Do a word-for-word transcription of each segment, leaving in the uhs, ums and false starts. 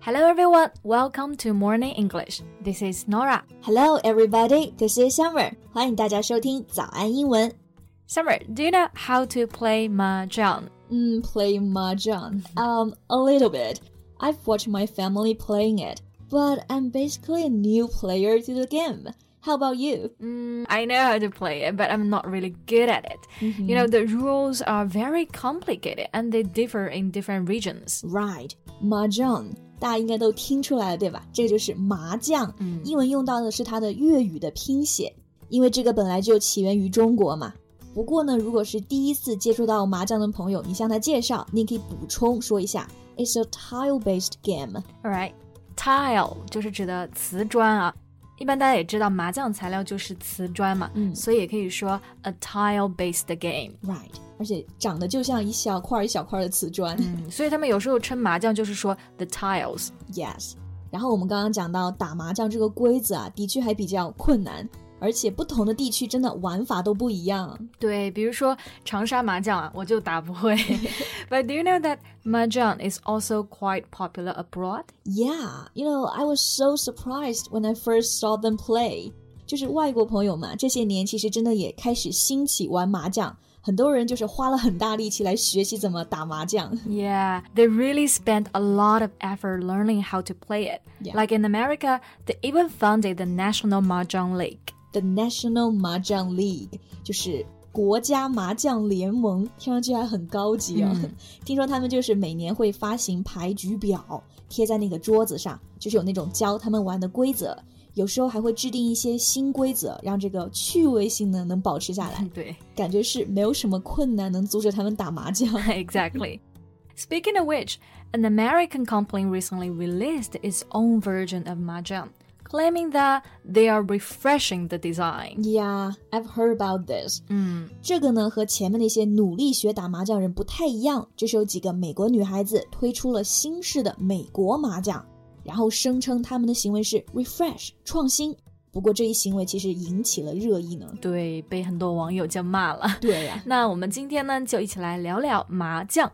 Hello everyone, welcome to Morning English. This is Nora. Hello everybody, this is Summer. 欢迎大家收听早安英文。 Summer, do you know how to play mahjong? Mm, play mahjong? Um, a little bit. I've watched my family playing it, but I'm basically a new player to the game. How about you? Mm, I know how to play it, but I'm not really good at it. Mm-hmm. You know, the rules are very complicated and they differ in different regions. Right. Mahjong.大家应该都听出来了对吧？这个就是麻将、嗯、英文用到的是它的粤语的拼写，因为这个本来就起源于中国嘛。不过呢，如果是第一次接触到麻将的朋友，你向他介绍，你可以补充说一下 It's a tile-based game. Alright, tile 就是指的瓷砖啊，一般大家也知道麻将材料就是瓷砖嘛、嗯、所以也可以说 a tile-based game. Right.而且长得就像一小块一小块的瓷砖、 嗯、所以他们有时候称麻将就是说 the tiles. Yes. 然后我们刚刚讲到打麻将这个规则啊，的确还比较困难，而且不同的地区真的玩法都不一样。 对，比如说长沙麻将啊，我就打不会。But do you know that mahjong is also quite popular abroad? Yeah, you know, I was so surprised when I first saw them play. 就是外国朋友嘛，这些年其实真的也开始兴起玩麻将。很多人就是花了很大力气来学习怎么打麻将。 Yeah, they really spent a lot of effort learning how to play it. Yeah. Like in America, they even founded the National Mahjong League. The National Mahjong League 就是国家麻将联盟，听上去还很高级哦。嗯、听说他们就是每年会发行牌局表，贴在那个桌子上，就是有那种教他们玩的规则。有时候还会制定一些新规则，让这个趣味性呢能保持下来。 对， 感觉是没有什么困难能阻止他们打麻将。 Exactly. Speaking of which, an American company recently released its own version of mahjong, claiming that they are refreshing the design. Yeah, I've heard about this. 嗯， 这个呢和前面那些努力学打麻将人不太一样，就是有几个美国女孩子推出了新式的美国麻将。然后声称他们的行为是 refresh 创新，不过这一行为其实引起了热议呢。 对，被很多网友就骂了。 对呀、啊， 那我们今天呢就一起来聊聊麻将。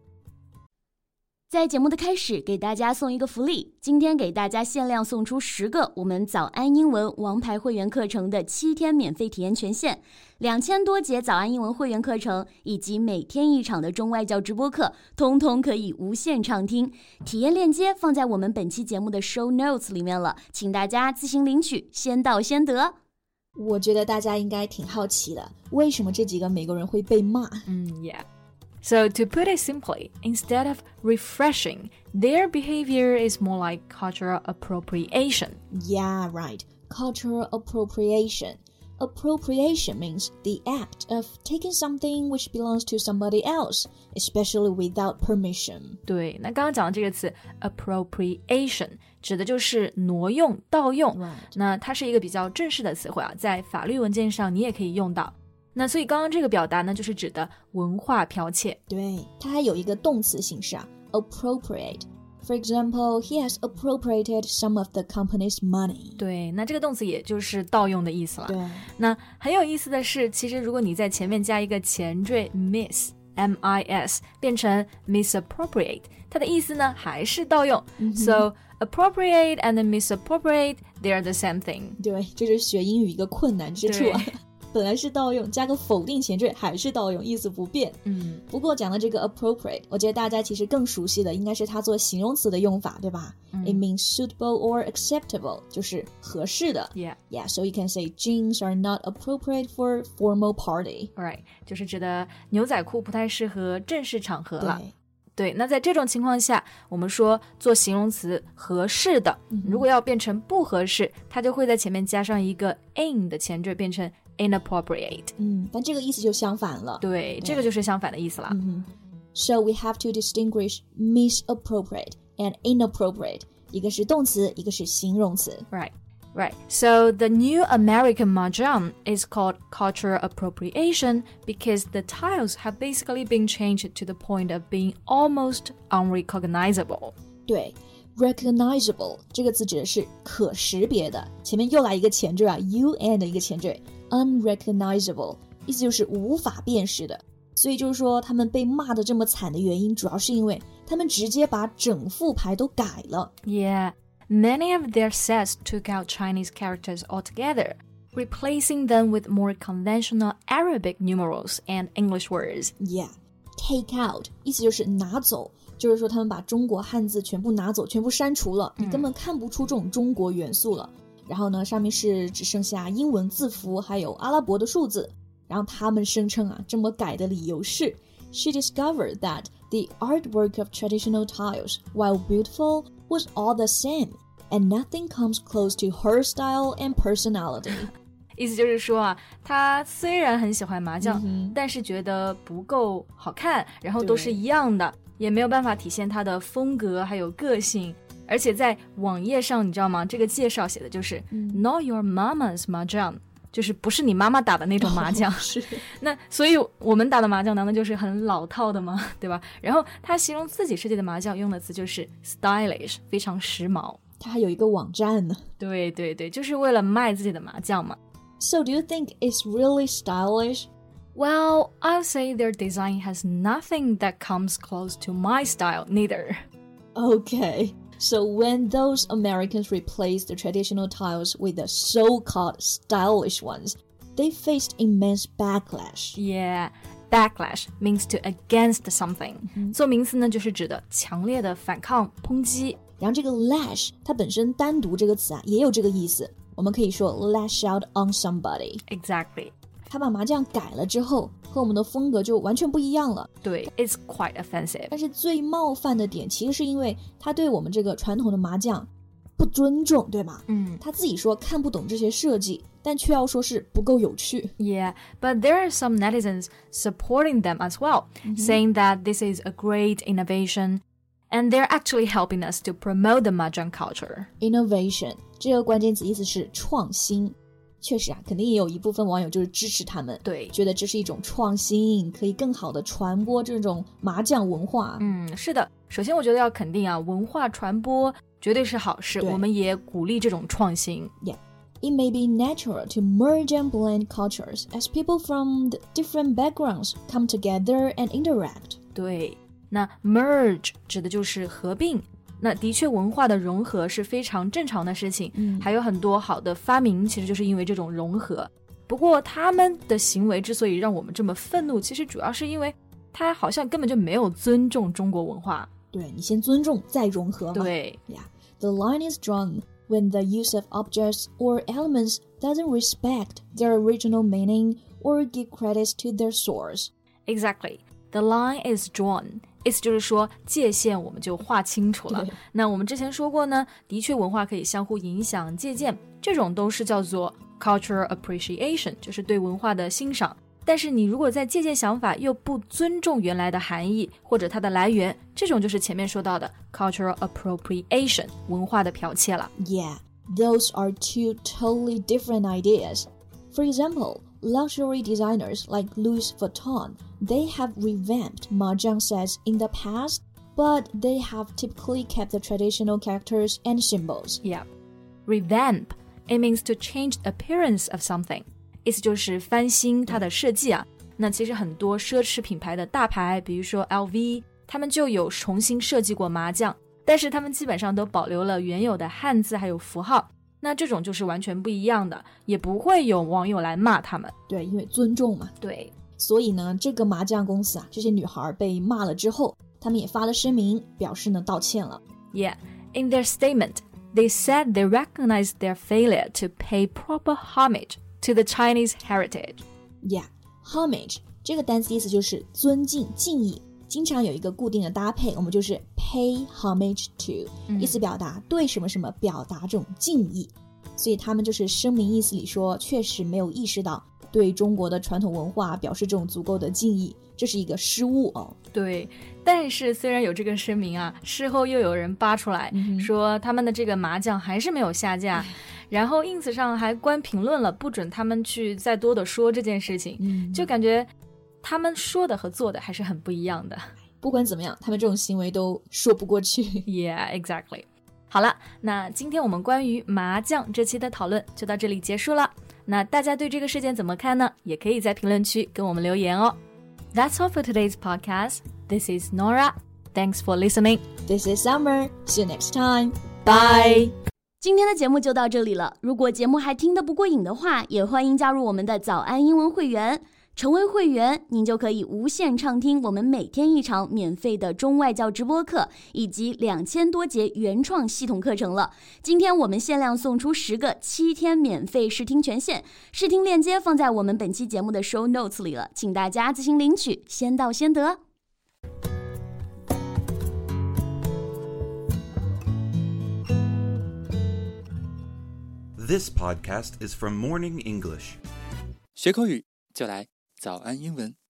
在节目的开始给大家送一个福利，今天给大家限量送出十个我们早安英文王牌会员课程的七天免费体验权限，两千多节早安英文会员课程以及每天一场的中外教直播课通通可以无限畅听，体验链接放在我们本期节目的 show notes 里面了，请大家自行领取，先到先得。 我觉得大家应该挺好奇的，为什么这几个美国人会被骂？ 嗯 Yeah.So to put it simply, instead of refreshing, their behavior is more like cultural appropriation. Yeah, right. Cultural appropriation. Appropriation means the act of taking something which belongs to somebody else, especially without permission. 对，那刚刚讲的这个词 appropriation 指的就是挪用、盗用。 Right. 那它是一个比较正式的词汇啊，在法律文件上你也可以用到。那所以刚刚这个表达呢，就是指的文化剽窃。 对，它还有一个动词形式啊 ，appropriate. For example, he has appropriated some of the company's money. 对，那这个动词也就是盗用的意思了。 对， 那很有意思的是，其实如果你在前面加一个前缀 miss, M I S, 变成 misappropriate, 它的意思呢还是盗用。Mm-hmm. So appropriate and misappropriate, they are the same thing. 对，这是学英语一个困难之处啊。本来是盗用，加个否定前缀还是盗用，意思不变。 嗯， 不过讲到这个 appropriate， 我觉得大家其实更熟悉的应该是它做形容词的用法，对吧？嗯、It means suitable or acceptable， 就是合适的。 Yeah, yeah. So you can say jeans are not appropriate for formal party. Right， 就是指的牛仔裤不太适合正式场合了。 对。 对，那在这种情况下，我们说做形容词合适的，嗯、如果要变成不合适，它就会在前面加上一个 in 的前缀，变成 inappropriate。 嗯，但这个意思就相反了。 对，这个就是相反的意思了。 嗯 So we have to distinguish misappropriate and inappropriate， 一个是动词，一个是形容词。 Right.Right, so the new American mahjong is called cultural appropriation because the tiles have basically been changed to the point of being almost unrecognizable. 对 recognizable 这个词指的是可识别的，前面又来一个前缀啊 un 的一个前缀 unrecognizable 意思就是无法辨识的。 所以就是说他们被骂得这么惨的原因，主要是因为他们直接把整副牌都改了。 Yeah, many of their sets took out Chinese characters altogether, replacing them with more conventional Arabic numerals and English words. Yeah, take out 意思就是拿走，就是说他们把中国汉字全部拿走，全部删除了，你根本看不出这种中国元素了。然后呢，上面是只剩下英文字符还有阿拉伯的数字。然后他们声称啊，这么改的理由是 She discovered that the artwork of traditional tiles, while beautiful, was all the same, and nothing comes close to her style and personality. 意思就是说啊，他虽然很喜欢麻将、 嗯、 但是觉得不够好看，然后都是一样的，也没有办法体现他的风格还有个性。而且在网页上你知道吗，这个介绍写的就是、嗯、Not your mama's mahjong，就是不是你妈妈打的那种麻将、哦、 是。 那所以我们打的麻将难道就是很老套的吗？对吧？然后他形容自己设计的麻将用的词就是 stylish， 非常时髦。 他还有一个网站呢。 对对对，就是为了卖自己的麻将嘛。 So do you think it's really stylish? Well, I'll say their design has nothing that comes close to my style neither. Okay.So when those Americans replaced the traditional tiles with the so-called stylish ones, they faced immense backlash. Yeah, backlash means to against something. 做名词呢，就是指的强烈的反抗、抨击。 然后这个 lash 它本身单独这个词啊，也有这个意思。我们可以说 lash out on somebody. Exactly. 他把麻将改了之后，和我们的风格就完全不一样了。 对 ，it's quite offensive. 但是最冒犯的点，其实是因为他对我们这个传统的麻将不尊重，对吧？ 嗯， 他自己说看不懂这些设计，但却要说是不够有趣。 Yeah, but there are some netizens supporting them as well, mm-hmm. saying that this is a great innovation, and they're actually helping us to promote the mahjong culture. Innovation 这个关键词意思是创新。确实啊，肯定也有一部分网友就是支持他们， 对， 觉得这是一种创新，可以更好的传播这种麻将文化。 嗯，是的。首先我觉得要肯定啊，文化传播绝对是好事，我们也鼓励这种创新。 Yeah, it may be natural to merge and blend cultures as people from the different backgrounds come together and interact. 对，那 merge 指的就是合并。那的确文化的融合是非常正常的事情、嗯、还有很多好的发明其实就是因为这种融合。不过他们的行为之所以让我们这么愤怒，其实主要是因为他好像根本就没有尊重中国文化。 对，你先尊重再融合嘛。 对 yeah. The line is drawn when the use of objects or elements doesn't respect their original meaning or give credits to their source. Exactly. The line is drawn.意思就是说界限我们就划清楚了。那我们之前说过呢，的确文化可以相互影响借鉴，这种都是叫做 cultural appreciation， 就是对文化的欣赏。但是你如果在借鉴想法又不尊重原来的含义或者它的来源，这种就是前面说到的 cultural appropriation， 文化的剽窃了。 Yeah, those are two totally different ideas. For example, luxury designers like Louis Vuitton,They have revamped mahjong sets in the past, but they have typically kept the traditional characters and symbols. Yeah. Revamp, it means to change the appearance of something. 意思就是翻新它的设计啊。那其实很多奢侈品牌的大牌，比如说 L V， 他们就有重新设计过麻将，但是他们基本上都保留了原有的汉字还有符号。那这种就是完全不一样的，也不会有网友来骂他们。 对，因为尊重嘛。 对。 所以呢，这个麻将公司啊，这些女孩被骂了之后，他们也发了声明，表示呢道歉了。 Yeah, in their statement, they said they recognize their failure to pay proper homage to the Chinese heritage. Yeah, homage 这个单词意思就是尊敬、敬意，经常有一个固定的搭配，我们就是 pay homage to，、嗯、意思表达对什么什么表达这种敬意。所以他们就是声明意思里说，确实没有意识到对中国的传统文化表示这种足够的敬意，这是一个失误哦。 对，但是虽然有这个声明啊，事后又有人扒出来、嗯、说他们的这个麻将还是没有下架，然后 ins 上还关评论了，不准他们去再多的说这件事情、嗯、就感觉他们说的和做的还是很不一样的。 不管怎么样，他们这种行为都说不过去。 Yeah, exactly. 好了，那今天我们关于麻将这期的讨论就到这里结束了。那大家对这个事件怎么看呢？也可以在评论区跟我们留言哦。 That's all for today's podcast. This is Nora. Thanks for listening. This is Summer. See you next time. Bye. 今天的节目就到这里了。如果节目还听得不过瘾的话，也欢迎加入我们的早安英文会员。成为会员，您就可以无限畅听我们每天一场免费的中外教直播课，以及两千多节原创系统课程了。今天我们限量送出十个七天免费试听权限，试听链接放在我们本期节目的 show notes 里了，请大家自行领取，先到先得。 This podcast is from Morning English. 学口语就来早安英文。